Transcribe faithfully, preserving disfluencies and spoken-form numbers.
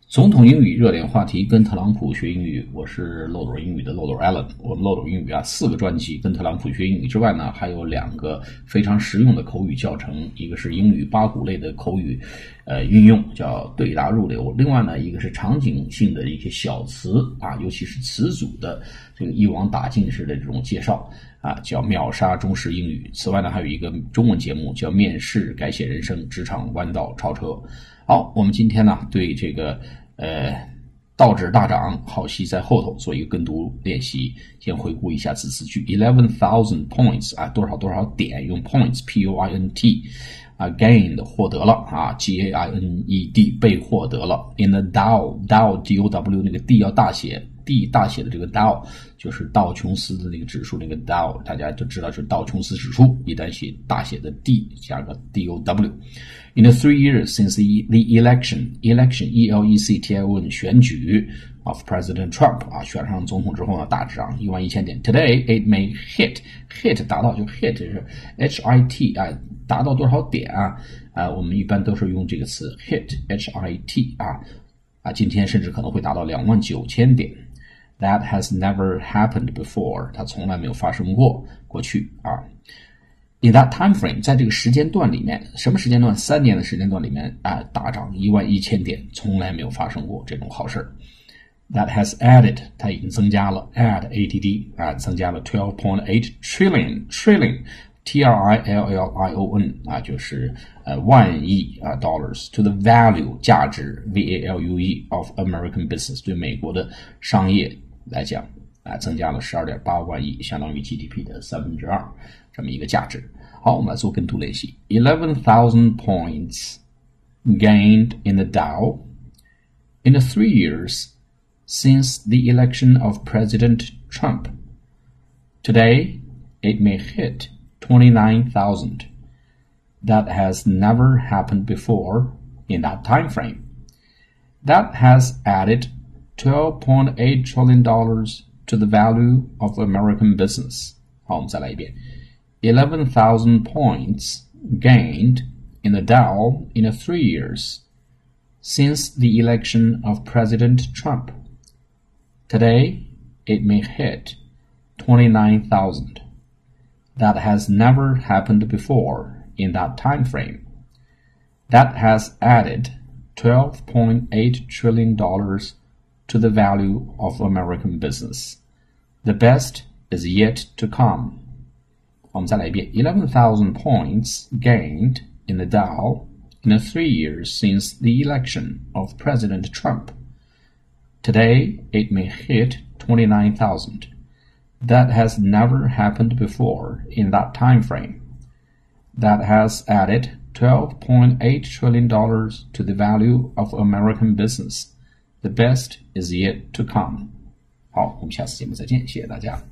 总统英语热点话题，跟特朗普学英语。我是漏斗英语的漏斗 Alan。我们漏斗英语啊，四个专辑跟特朗普学英语之外呢，还有两个非常实用的口语教程，一个是英语八股类的口语呃运用，叫对答入流；另外呢，一个是场景性的一些小词啊，尤其是词组的这个一网打尽式的这种介绍啊，叫秒杀中式英语。此外呢，还有一个中文节目叫面试改写人生，职场弯道超车。好，我们今天呢对这个呃道指大涨，好戏在后头，做一个跟读练习。先回顾一下字词句 eleven thousand points 啊，多少多少点，用 points P O I N T 啊 gained 获得了啊 G A I N E D 被获得了 in the Dow Dow D O W 那个 D 要大写，D 大写的这个 Dow 就是道琼斯的那个指数，那个 Dow 大家都知道是道琼斯指数，一旦写大写的 D 加个 D O W。In the three years since the, the election, election, E L E C T I O N 选举 of President Trump 啊，选上总统之后呢，大涨一万一千点。Today it may hit, hit 达到就 hit 是 H I T 啊，达到多少点啊？啊，我们一般都是用这个词 hit H I T 啊啊，今天甚至可能会达到两万九千点。That has never happened before， 它从来没有发生过，过去啊。In that time frame， 在这个时间段里面，什么时间段？三年的时间段里面啊，大涨一万一千点，从来没有发生过这种好事。That has added， 它已经增加了 add A D D 啊，增加了 twelve point eight trillion trillion T R I L L I O N 啊，就是呃万亿啊 dollars to the value 价值 V A L U E of American business 对美国的商业来讲啊，增加了 十二点八万亿，相当于 G D P 的三分之二。这么一个价值。好，我们来做跟读练习。eleven thousand points gained in the Dow in the three years since the election of President Trump. Today, it may hit twenty-nine thousand. That has never happened before in that time frame. That has added twelve point eight trillion dollars to the value of American business. 好，我们再来一遍。eleven thousand points gained in the Dow in the three years since the election of President Trump. Today, it may hit twenty-nine thousand. That has never happened before in that time frame. That has added twelve point eight trillion dollars to the value of American business. The best is yet to come. 我们再来一遍 eleven thousand points gained in the Dow in the three years since the election of President Trump. Today, it may hit twenty-nine thousand. That has never happened before in that time frame. That has added twelve point eight trillion dollars to the value of American business. The best is yet to come. 好，我们下次节目再见，谢谢大家。